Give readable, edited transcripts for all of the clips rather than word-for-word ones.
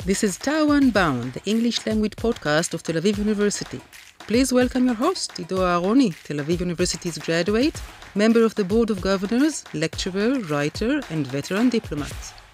This is Tao Unbound, the English language podcast of Tel Aviv University. Please welcome your host, Ido Aharoni, Tel Aviv University's graduate, member of the Board of Governors, lecturer, writer, and veteran diplomat.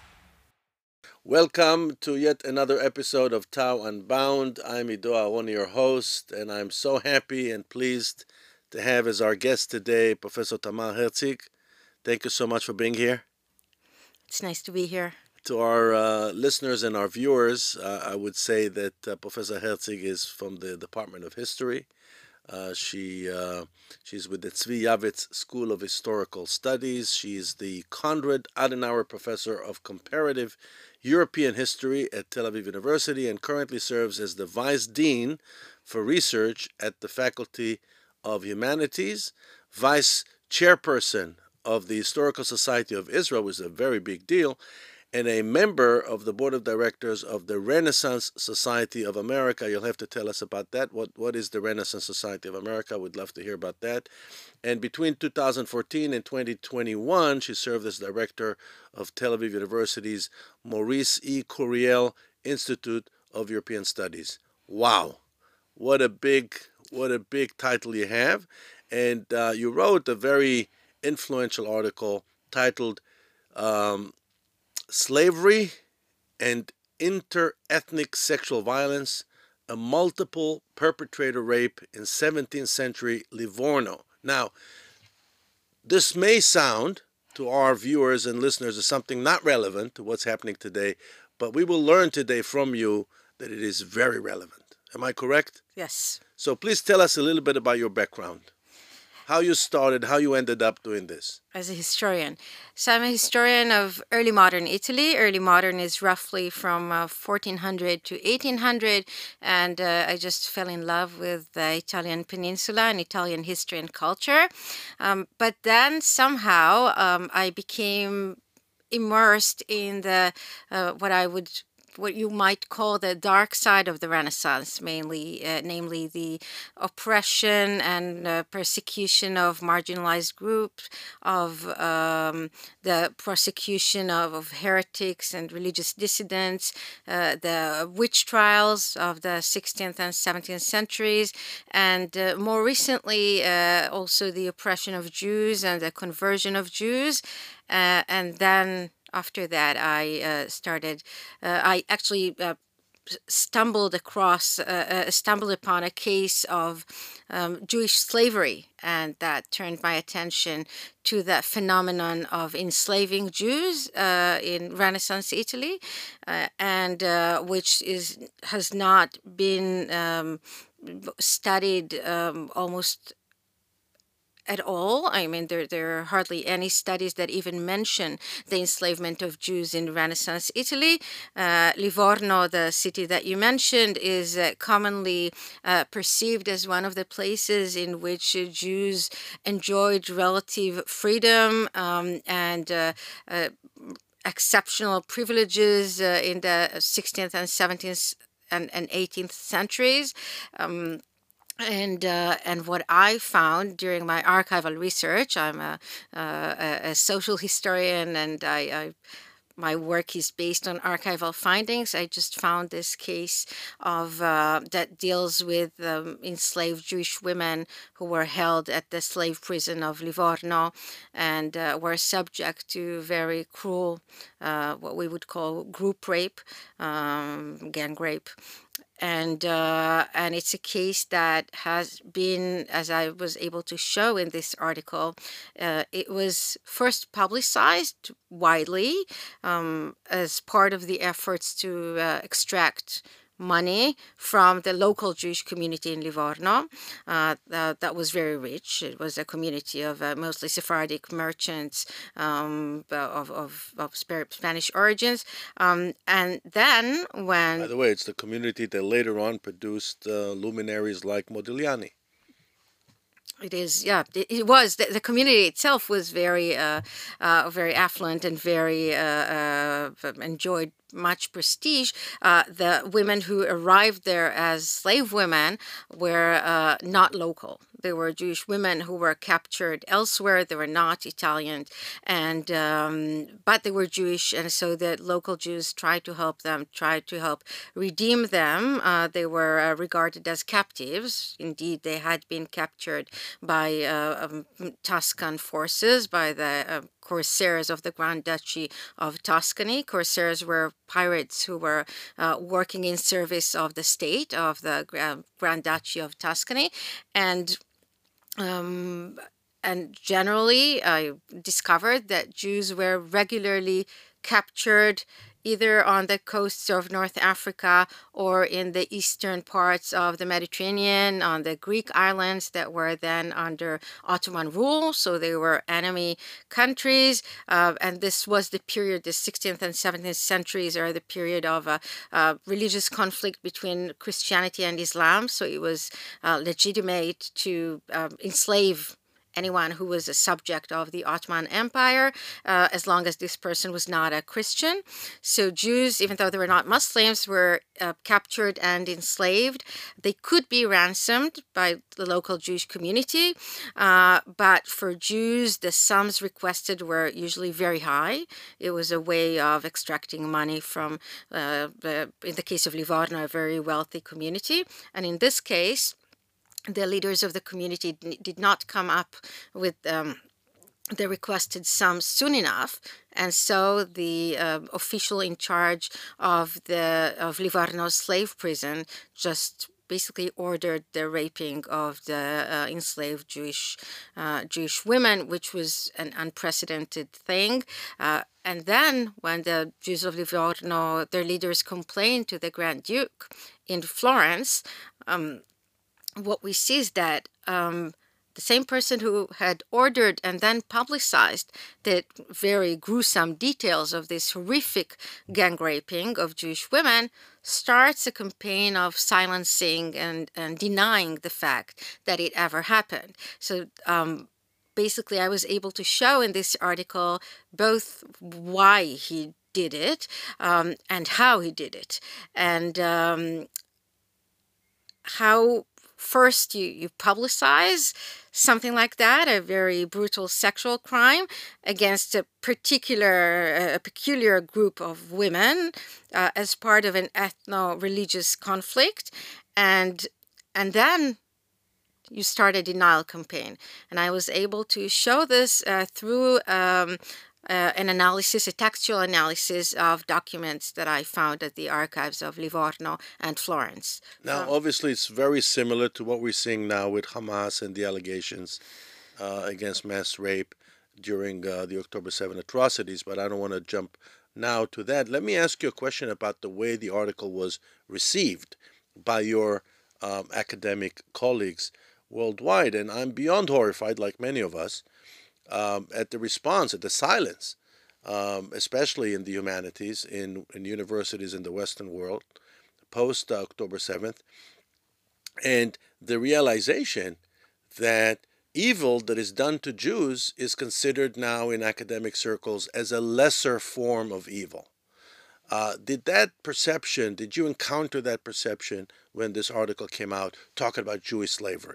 Welcome to yet another episode of Tao Unbound. I'm Ido Aharoni, your host, and I'm so happy and pleased to have as our guest today Professor Tamar Herzig. Thank you so much for being here. It's nice to be here. To our listeners and our viewers, I would say that Professor Herzig is from the Department of History. She's with the Tzvi Yavitz School of Historical Studies. She's the Konrad Adenauer Professor of Comparative European History at Tel Aviv University and currently serves as the Vice Dean for Research at the Faculty of Humanities, Vice Chairperson of the Historical Society of Israel, which is a very big deal, and a member of the Board of Directors of the Renaissance Society of America. You'll have to tell us about that. What is the Renaissance Society of America? We'd love to hear about that. And between 2014 and 2021, she served as director of Tel Aviv University's Maurice E. Curiel Institute of European Studies. Wow, what a big title you have. And you wrote a very influential article titled Slavery and Inter-Ethnic Sexual Violence, a Multiple Perpetrator Rape in 17th Century Livorno. Now, this may sound to our viewers and listeners as something not relevant to what's happening today, but we will learn today from you that it is very relevant. Am I correct? Yes. So please tell us a little bit about your background. How you started, how you ended up doing this. As a historian. So I'm a historian of early modern Italy. Early modern is roughly from 1400 to 1800. And I just fell in love with the Italian peninsula and Italian history and culture. But then somehow I became immersed in the what you might call the dark side of the Renaissance, namely the oppression and persecution of marginalized groups, of the prosecution of heretics and religious dissidents, the witch trials of the 16th and 17th centuries, and more recently also the oppression of Jews and the conversion of Jews, and then after that, I actually stumbled upon a case of Jewish slavery, and that turned my attention to the phenomenon of enslaving Jews in Renaissance Italy, and which has not been studied almost at all. I mean, there are hardly any studies that even mention the enslavement of Jews in Renaissance Italy. Livorno, the city that you mentioned, is commonly perceived as one of the places in which Jews enjoyed relative freedom and exceptional privileges in the 16th and 17th and 18th centuries. And what I found during my archival research, I'm a social historian, and my work is based on archival findings. I just found this case of that deals with enslaved Jewish women who were held at the slave prison of Livorno and were subject to very cruel, what we would call group rape, gang rape. And it's a case that has been, as I was able to show in this article, it was first publicized widely as part of the efforts to extract money from the local Jewish community in Livorno that was very rich. It was a community of mostly Sephardic merchants of Spanish origins. And then when... By the way, it's the community that later on produced luminaries like Modigliani. It is, yeah. It was the community itself was very affluent and very enjoyed much prestige, the women who arrived there as slave women were not local. They were Jewish women who were captured elsewhere. They were not Italian, and but they were Jewish, and so the local Jews tried to help them, tried to help redeem them. They were regarded as captives. Indeed, they had been captured by Tuscan forces, by the corsairs of the Grand Duchy of Tuscany. Corsairs were pirates who were working in service of the state of the Grand Duchy of Tuscany, and generally, I discovered that Jews were regularly captured either on the coasts of North Africa or in the eastern parts of the Mediterranean, on the Greek islands that were then under Ottoman rule. So they were enemy countries. And this was the period, the 16th and 17th centuries are the period of religious conflict between Christianity and Islam. So it was legitimate to enslave anyone who was a subject of the Ottoman Empire, as long as this person was not a Christian. So Jews, even though they were not Muslims, were captured and enslaved. They could be ransomed by the local Jewish community, but for Jews, the sums requested were usually very high. It was a way of extracting money from, in the case of Livorno, a very wealthy community. And in this case, the leaders of the community did not come up with the requested sums soon enough, and so the official in charge of Livorno's slave prison just basically ordered the raping of the enslaved Jewish women, which was an unprecedented thing. And then when the Jews of Livorno, their leaders, complained to the Grand Duke in Florence, what we see is that the same person who had ordered and then publicized the very gruesome details of this horrific gang raping of Jewish women starts a campaign of silencing and denying the fact that it ever happened. So basically, I was able to show in this article both why he did it and how he did it, and how first you publicize something like that, a very brutal sexual crime against a peculiar group of women as part of an ethno-religious conflict, and then you start a denial campaign. And I was able to show this through an analysis, a textual analysis of documents that I found at the archives of Livorno and Florence. Now, obviously, it's very similar to what we're seeing now with Hamas and the allegations against mass rape during the October 7 atrocities, but I don't want to jump now to that. Let me ask you a question about the way the article was received by your academic colleagues worldwide, and I'm beyond horrified, like many of us, at the response, at the silence, especially in the humanities, in universities in the Western world, post October 7th, and the realization that evil that is done to Jews is considered now in academic circles as a lesser form of evil. Did you encounter that perception when this article came out talking about Jewish slavery?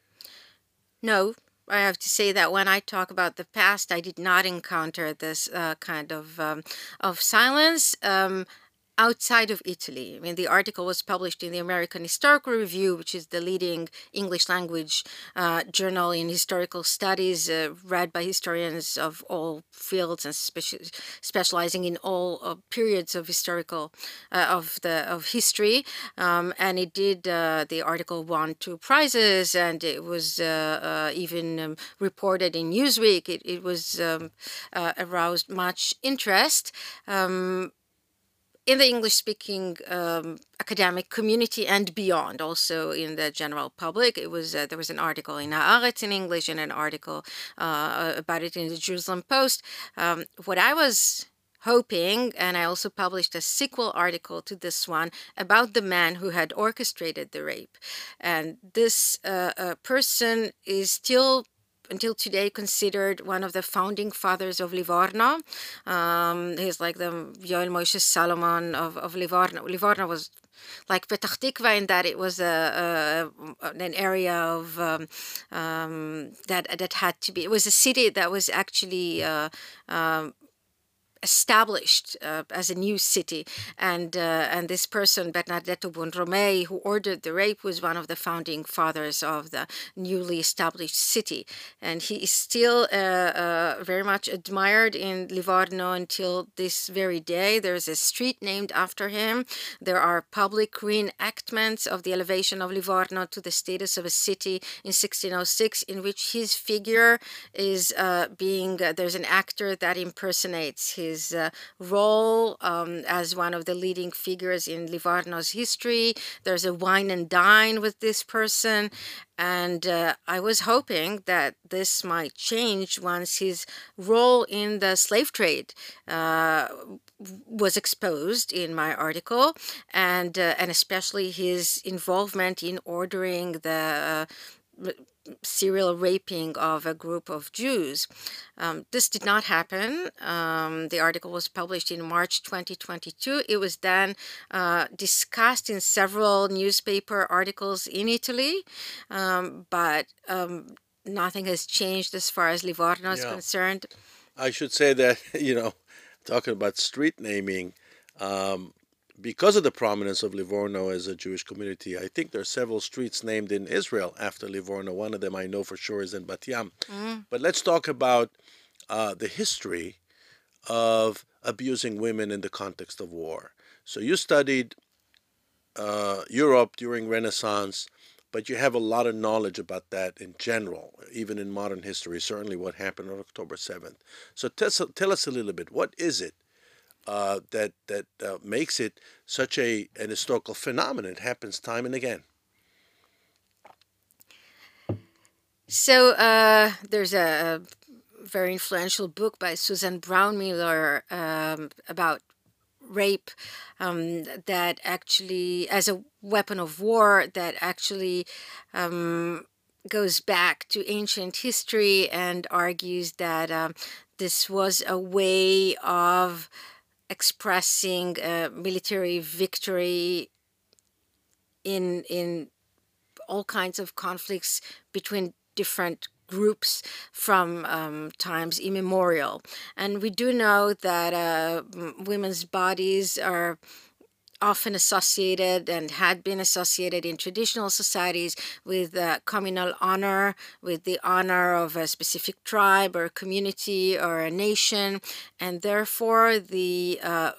No. I have to say that when I talk about the past, I did not encounter this kind of silence. Outside of Italy. I mean, the article was published in the American Historical Review, which is the leading English language journal in historical studies, read by historians of all fields and specializing in all periods of historical of history. And it did. The article won 2 prizes, and it was even reported in Newsweek. It was aroused much interest. In the English-speaking academic community and beyond, also in the general public. It was there was an article in Haaretz in English and an article about it in the Jerusalem Post. What I was hoping, and I also published a sequel article to this one about the man who had orchestrated the rape. And this person is still until today considered one of the founding fathers of Livorno. He's like the Yoel Moshe Salomon of Livorno. Livorno was like Petach Tikva in that it was an area of that had to be. It was a city that was actually established as a new city, and this person, Bernardetto Buonromei, who ordered the rape, was one of the founding fathers of the newly established city, and he is still very much admired in Livorno until this very day. There's a street named after him. There are public reenactments of the elevation of Livorno to the status of a city in 1606, in which his figure is there's an actor that impersonates his role as one of the leading figures in Livorno's history. There's a wine and dine with this person, and I was hoping that this might change once his role in the slave trade was exposed in my article, and especially his involvement in ordering the serial raping of a group of Jews. This did not happen. The article was published in March 2022. It was then discussed in several newspaper articles in Italy, but nothing has changed as far as Livorno is concerned. I should say that, talking about street naming, because of the prominence of Livorno as a Jewish community, I think there are several streets named in Israel after Livorno. One of them I know for sure is in Bat Yam. But let's talk about the history of abusing women in the context of war. So you studied Europe during Renaissance, but you have a lot of knowledge about that in general, even in modern history, certainly what happened on October 7th. So tell us a little bit, what is it that makes it such an historical phenomenon? It happens time and again. So there's a very influential book by Susan Brownmiller about rape that actually, as a weapon of war, that actually goes back to ancient history and argues that this was a way of expressing military victory in all kinds of conflicts between different groups from times immemorial. And we do know that women's bodies are often associated and had been associated in traditional societies with communal honor, with the honor of a specific tribe or community or a nation, and therefore the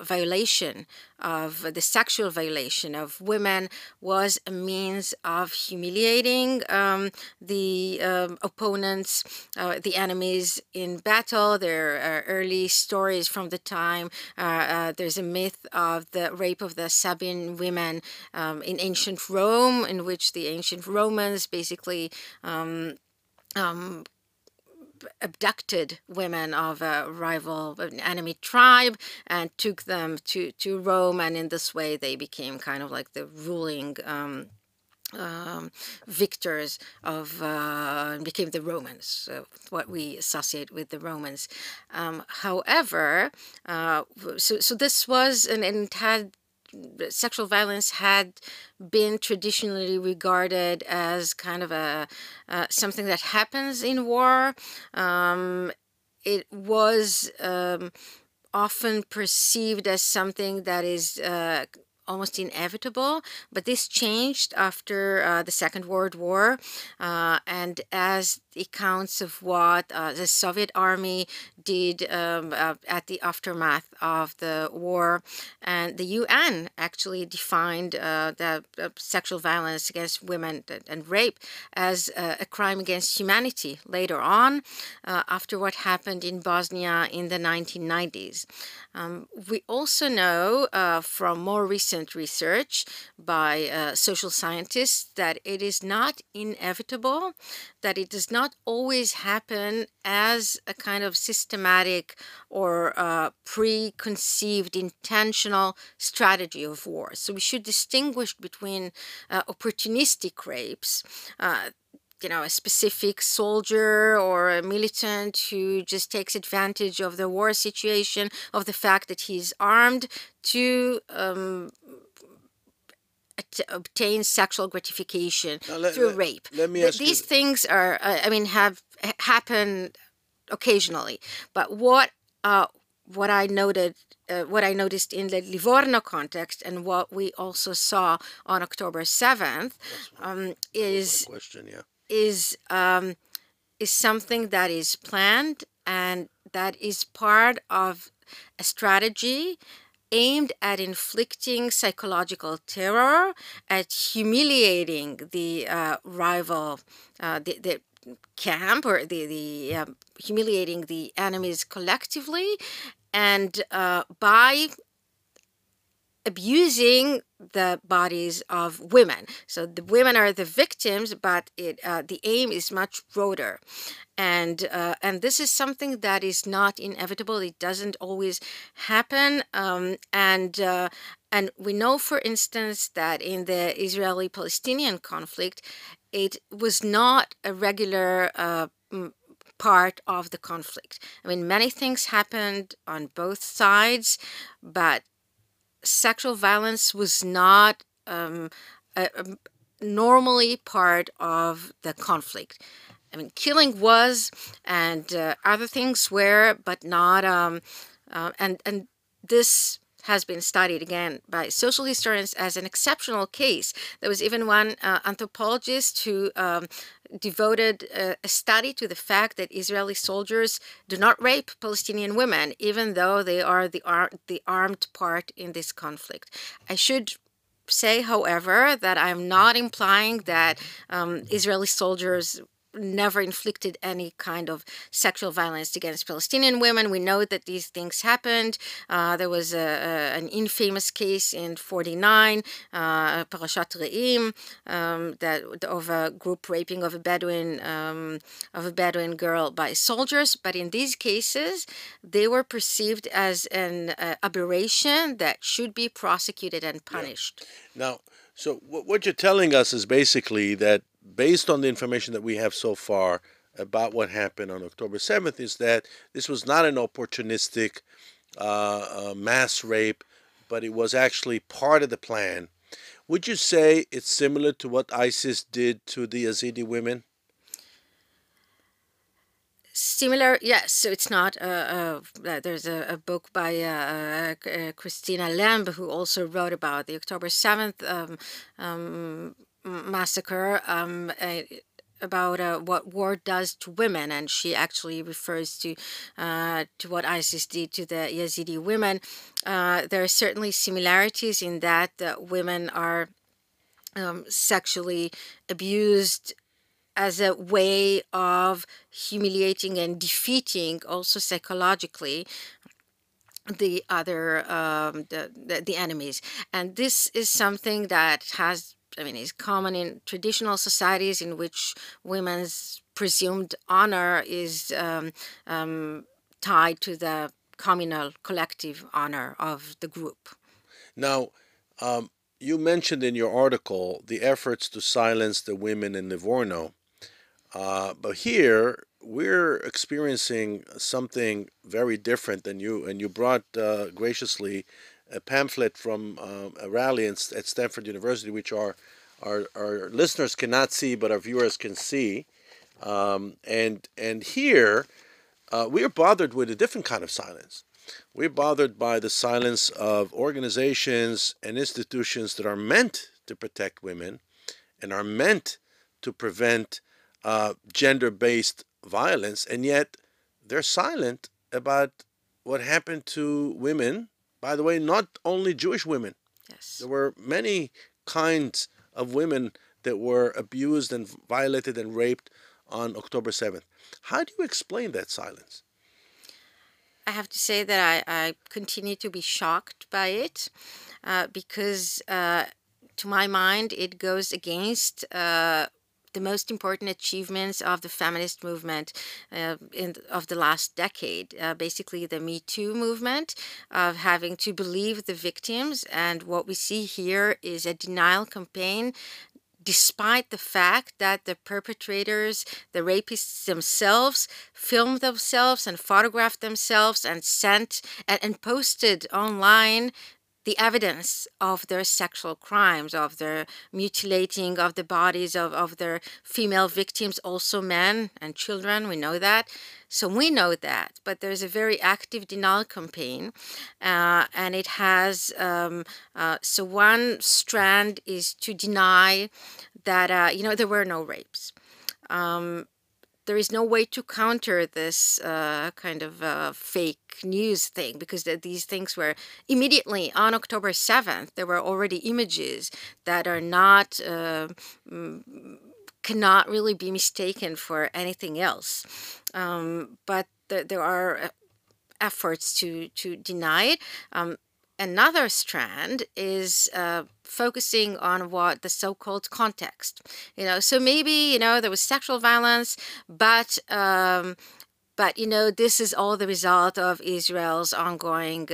sexual violation of women was a means of humiliating the opponents, the enemies in battle. There are early stories from the time. There's a myth of the rape of the Sabine women in ancient Rome, in which the ancient Romans basically abducted women of a rival, an enemy tribe, and took them to Rome, and in this way they became kind of like the ruling victors of became the Romans, what we associate with the Romans. However, so this was, and it had, sexual violence had been traditionally regarded as kind of a something that happens in war. It was often perceived as something that is almost inevitable, but this changed after the Second World War, and as accounts of what the Soviet army did at the aftermath of the war, and the UN actually defined the sexual violence against women and rape as a crime against humanity later on, after what happened in Bosnia in the 1990s. We also know from more recent research by social scientists that it is not inevitable, that it does not always happen as a kind of systematic or preconceived intentional strategy of war. So we should distinguish between opportunistic rapes, a specific soldier or a militant who just takes advantage of the war situation, of the fact that he's armed to obtain sexual gratification through rape. Let me ask These things are, have happened occasionally. But what I noticed in the Livorno context, and what we also saw on October 7th, is something that is planned and that is part of a strategy aimed at inflicting psychological terror, at humiliating the rival, the camp, or the humiliating the enemies collectively, and by abusing the bodies of women. So the women are the victims, but the aim is much broader. And this is something that is not inevitable. It doesn't always happen. And we know, for instance, that in the Israeli-Palestinian conflict, it was not a regular part of the conflict. I mean, many things happened on both sides, but sexual violence was not normally part of the conflict. I mean, killing was, and other things were, but not. And this has been studied again by social historians as an exceptional case. There was even one anthropologist who devoted a study to the fact that Israeli soldiers do not rape Palestinian women, even though they are the armed part in this conflict. I should say, however, that I'm not implying that Israeli soldiers never inflicted any kind of sexual violence against Palestinian women. We know that these things happened. There was an infamous case in 49, Parashat Re'im, of a group raping of a Bedouin girl by soldiers. But in these cases, they were perceived as an aberration that should be prosecuted and punished. Yeah. Now, so what you're telling us is basically that, based on the information that we have so far about what happened on October 7th, is that this was not an opportunistic mass rape, but it was actually part of the plan. Would you say it's similar to what ISIS did to the Yazidi women? Similar, yes. So it's not. There's a book by Christina Lemb, who also wrote about the October 7th massacre, about what war does to women, and she actually refers to what ISIS did to the Yazidi women. There are certainly similarities in that women are sexually abused as a way of humiliating and defeating, also psychologically, the other the enemies. And this is something that is common in traditional societies in which women's presumed honor is tied to the communal, collective honor of the group. Now, you mentioned in your article the efforts to silence the women in Livorno. But here, we're experiencing something very different than you. And you brought graciously a pamphlet from a rally at Stanford University, which our listeners cannot see, but our viewers can see. And here, we're bothered with a different kind of silence. We're bothered by the silence of organizations and institutions that are meant to protect women and are meant to prevent gender-based violence, and yet they're silent about what happened to women. By the way, not only Jewish women. Yes. There were many kinds of women that were abused and violated and raped on October 7th. How do you explain that silence? I have to say that I continue to be shocked by it because, to my mind, it goes against the most important achievements of the feminist movement of the last decade, basically the Me Too movement, of having to believe the victims. And what we see here is a denial campaign despite the fact that the perpetrators, the rapists themselves, filmed themselves and photographed themselves and sent and posted online the evidence of their sexual crimes, of their mutilating of the bodies of their female victims, also men and children. We know that. So we know that. But there's a very active denial campaign. And it has, so one strand is to deny that, there were no rapes. There is no way to counter this kind of fake news thing, because these things were immediately on October 7th. There were already images that are not, cannot really be mistaken for anything else. But there are efforts to deny it. Another strand is focusing on what the so-called context, so maybe, there was sexual violence, but this is all the result of Israel's ongoing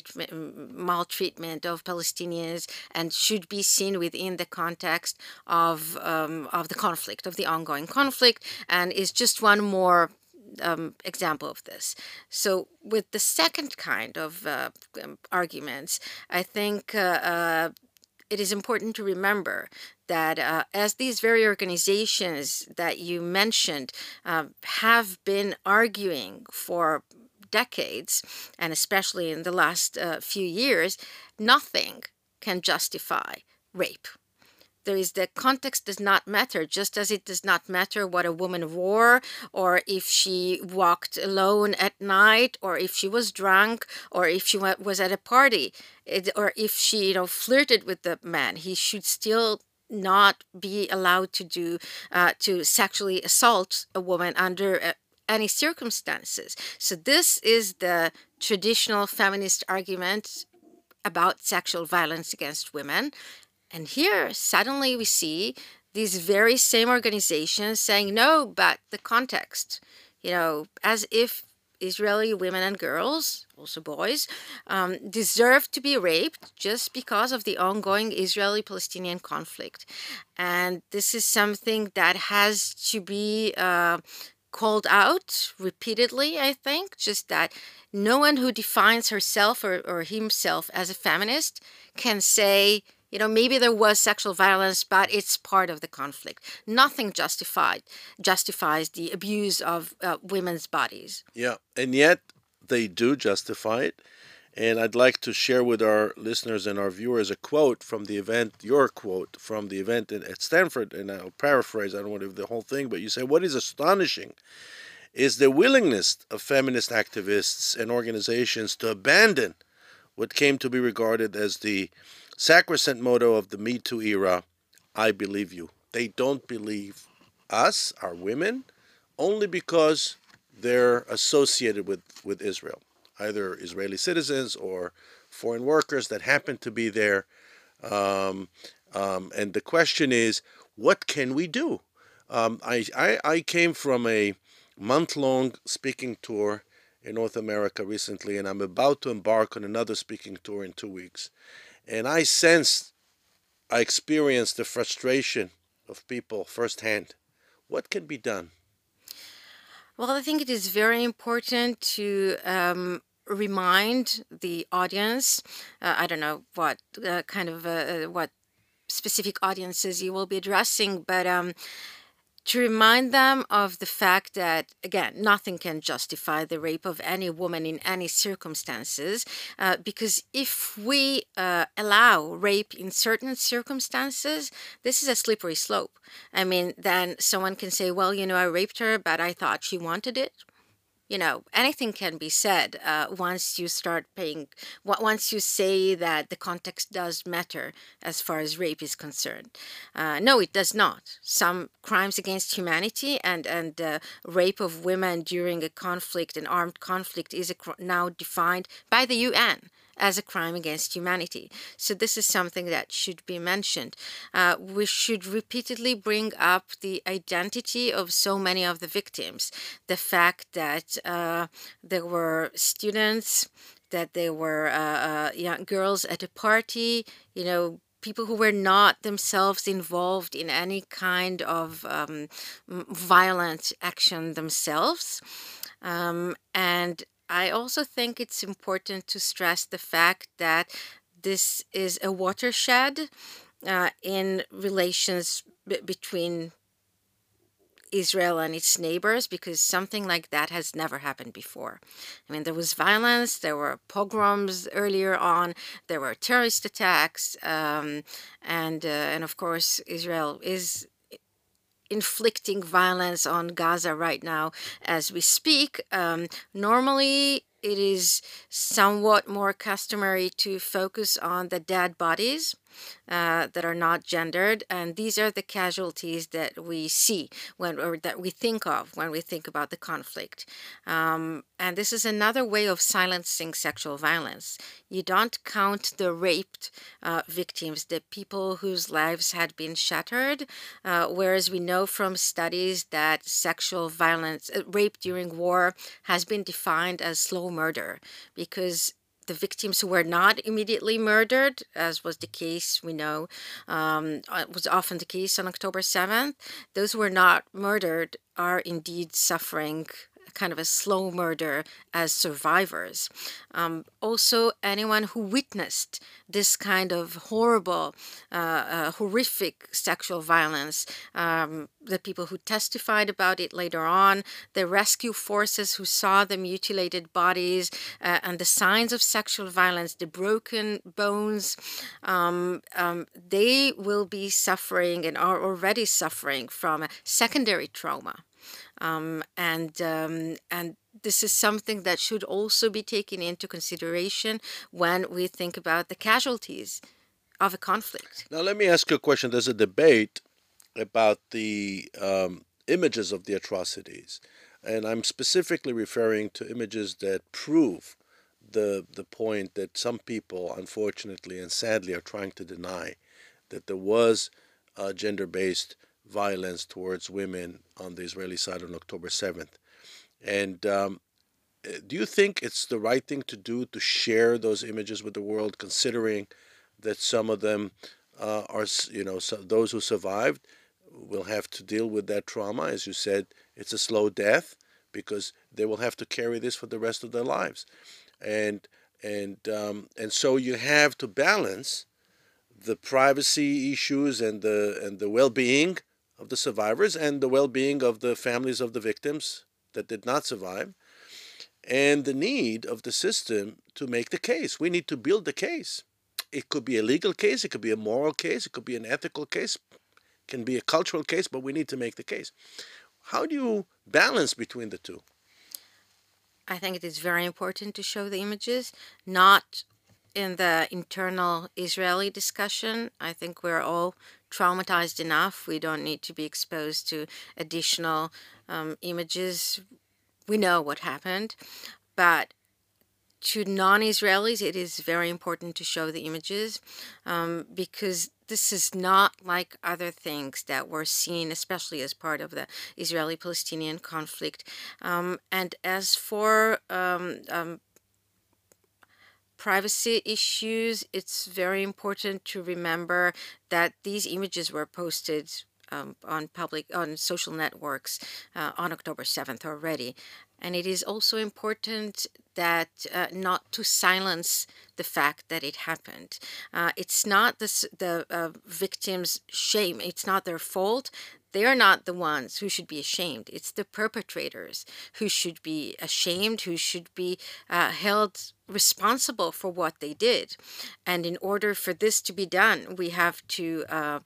maltreatment of Palestinians, and should be seen within the context of the conflict, of the ongoing conflict, and is just one more example of this. So with the second kind of arguments, I think it is important to remember that as these very organizations that you mentioned have been arguing for decades, and especially in the last few years, nothing can justify rape. There is the context does not matter, just as it does not matter what a woman wore, or if she walked alone at night, or if she was drunk, or if she was at a party, or if she, flirted with the man. He should still not be allowed to sexually assault a woman under any circumstances. So this is the traditional feminist argument about sexual violence against women. And here, suddenly we see these very same organizations saying, no, but the context, as if Israeli women and girls, also boys, deserve to be raped just because of the ongoing Israeli-Palestinian conflict. And this is something that has to be called out repeatedly, I think, just that no one who defines herself or himself as a feminist can say, maybe there was sexual violence, but it's part of the conflict. Nothing justifies the abuse of women's bodies. Yeah, and yet they do justify it. And I'd like to share with our listeners and our viewers a quote from the event, your quote from the event at Stanford, and I'll paraphrase, I don't want to do the whole thing, but you say, what is astonishing is the willingness of feminist activists and organizations to abandon what came to be regarded as the sacrosanct motto of the Me Too era, I believe you. They don't believe us, our women, only because they're associated with Israel, either Israeli citizens or foreign workers that happen to be there. And the question is, what can we do? I came from a month-long speaking tour in North America recently, and I'm about to embark on another speaking tour in 2 weeks. And I experienced the frustration of people firsthand. What can be done? Well, I think it is very important to remind the audience. I don't know what what specific audiences you will be addressing, but to remind them of the fact that, again, nothing can justify the rape of any woman in any circumstances, because if we allow rape in certain circumstances, this is a slippery slope. I mean, then someone can say, well, I raped her, but I thought she wanted it. Anything can be said once you once you say that the context does matter as far as rape is concerned. No, it does not. Some crimes against humanity and rape of women during a conflict, an armed conflict, is now defined by the UN as a crime against humanity. So this is something that should be mentioned. We should repeatedly bring up the identity of so many of the victims. The fact that there were students, that there were young girls at a party, people who were not themselves involved in any kind of violent action themselves. And I also think it's important to stress the fact that this is a watershed in relations between Israel and its neighbors, because something like that has never happened before. I mean, there was violence, there were pogroms earlier on, there were terrorist attacks, and of course, Israel is inflicting violence on Gaza right now as we speak. Normally, it is somewhat more customary to focus on the dead bodies that are not gendered, and these are the casualties that we see or that we think of when we think about the conflict. And this is another way of silencing sexual violence. You don't count the raped victims, the people whose lives had been shattered, whereas we know from studies that sexual violence, rape during war, has been defined as slow murder, because the victims who were not immediately murdered, as was the case, we know, was often the case on October 7th, those who were not murdered are indeed suffering kind of a slow murder as survivors. Also, anyone who witnessed this kind of horrible, horrific sexual violence, the people who testified about it later on, the rescue forces who saw the mutilated bodies and the signs of sexual violence, the broken bones, they will be suffering and are already suffering from a secondary trauma. And this is something that should also be taken into consideration when we think about the casualties of a conflict. Now, let me ask you a question. There's a debate about the images of the atrocities, and I'm specifically referring to images that prove the point that some people, unfortunately and sadly, are trying to deny, that there was gender-based violence towards women on the Israeli side on October 7th. And do you think it's the right thing to do to share those images with the world, considering that some of them are, so those who survived will have to deal with that trauma? As you said, it's a slow death because they will have to carry this for the rest of their lives. And so you have to balance the privacy issues and the well-being of the survivors and the well-being of the families of the victims that did not survive, and the need of the system to make the case. We need to build the case. It could be a legal case, it could be a moral case, it could be an ethical case, it can be a cultural case, but we need to make the case. How do you balance between the two? I think it is very important to show the images, not in the internal Israeli discussion. I think we're all traumatized enough. We don't need to be exposed to additional images. We know what happened. But to non-Israelis, it is very important to show the images because this is not like other things that were seen, especially as part of the Israeli-Palestinian conflict. And as for privacy issues, it's very important to remember that these images were posted on social networks on October 7th already. And it is also important that not to silence the fact that it happened. It's not the victims' shame. It's not their fault. They are not the ones who should be ashamed. It's the perpetrators who should be ashamed, who should be held responsible for what they did. And in order for this to be done, we have to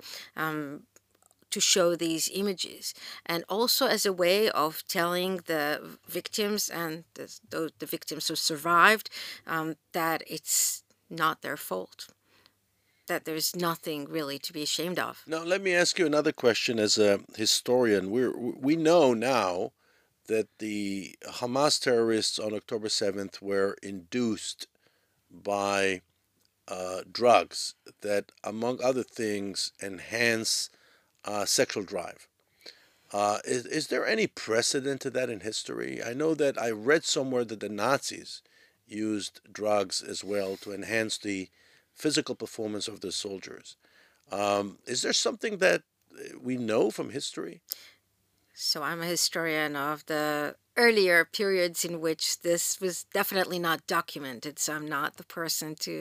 show these images, and also as a way of telling the victims and the victims who survived that it's not their fault, that there's nothing really to be ashamed of. Now, let me ask you another question as a historian. We know now that the Hamas terrorists on October 7th were induced by drugs that, among other things, enhance sexual drive. Is there any precedent to that in history? I know that I read somewhere that the Nazis used drugs as well to enhance the physical performance of the soldiers. Is there something that we know from history? So I'm a historian of the earlier periods in which this was definitely not documented. So I'm not the person to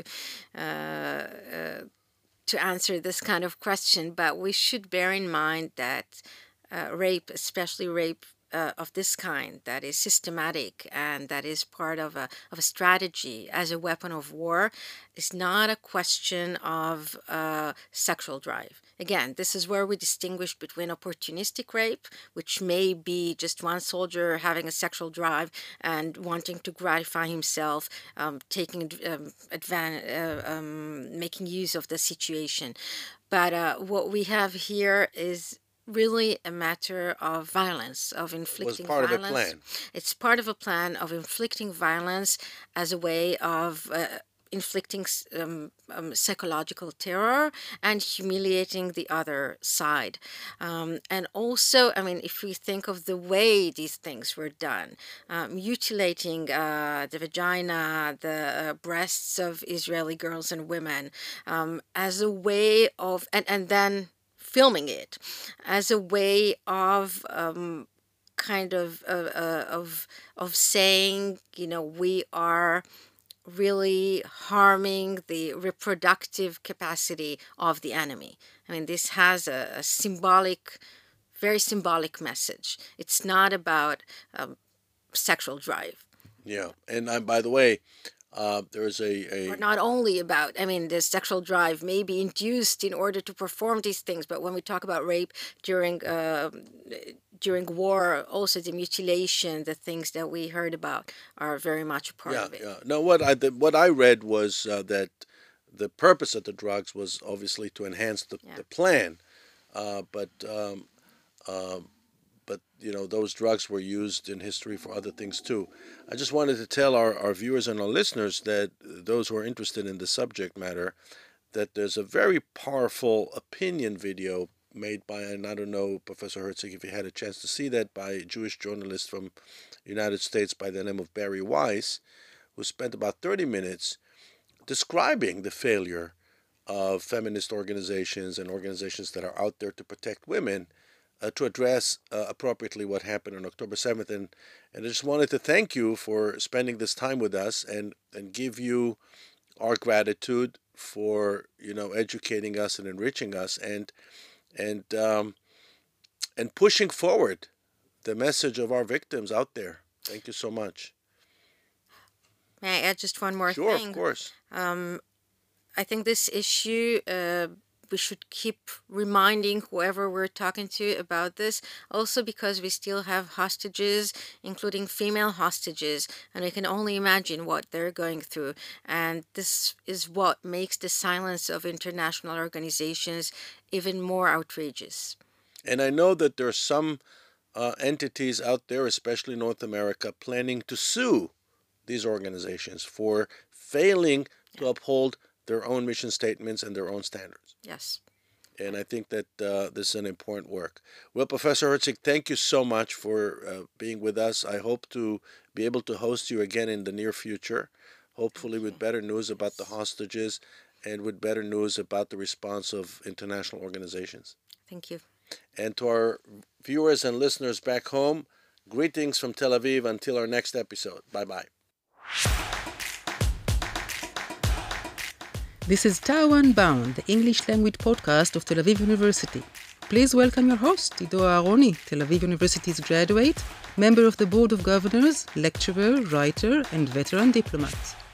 answer this kind of question. But we should bear in mind that rape, especially rape of this kind, that is systematic and that is part of a strategy as a weapon of war, is not a question of sexual drive. Again, this is where we distinguish between opportunistic rape, which may be just one soldier having a sexual drive and wanting to gratify himself, making use of the situation. But what we have here is really a matter of violence, of inflicting violence. It was part of a plan. It's part of a plan of inflicting violence as a way of inflicting psychological terror and humiliating the other side. And also, I mean, if we think of the way these things were done, mutilating the vagina, the breasts of Israeli girls and women, as a way of, and then filming it as a way of of saying, you know, we are really harming the reproductive capacity of the enemy. I mean, this has a symbolic, very symbolic message. It's not about sexual drive. Yeah, and by the way, there is Or not only about, I mean, the sexual drive may be induced in order to perform these things, but when we talk about rape during war, also the mutilation, the things that we heard about are very much a part of it. Yeah. No, what I read was that the purpose of the drugs was obviously to enhance the plan, but you know, those drugs were used in history for other things too. I just wanted to tell our viewers and our listeners, that those who are interested in the subject matter, that there's a very powerful opinion video made by, and I don't know, Professor Herzig, if you had a chance to see that, by a Jewish journalist from the United States by the name of Barry Weiss, who spent about 30 minutes describing the failure of feminist organizations and organizations that are out there to protect women, to address appropriately what happened on October 7th. And I just wanted to thank you for spending this time with us, and give you our gratitude for, you know, educating us and enriching us, and pushing forward the message of our victims out there. Thank you so much. May I add just one more thing? Sure, of course. I think this issue, we should keep reminding whoever we're talking to about this, also because we still have hostages, including female hostages, and we can only imagine what they're going through. And this is what makes the silence of international organizations even more outrageous. And I know that there are some entities out there, especially North America, planning to sue these organizations for failing to uphold their own mission statements and their own standards. Yes. And I think that this is an important work. Well, Professor Herzig, thank you so much for being with us. I hope to be able to host you again in the near future, hopefully with better news about the hostages and with better news about the response of international organizations. Thank you. And to our viewers and listeners back home, greetings from Tel Aviv until our next episode. Bye-bye. This is Taiwan Bound, the English language podcast of Tel Aviv University. Please welcome your host, Ido Aharoni, Tel Aviv University's graduate, member of the Board of Governors, lecturer, writer, and veteran diplomat.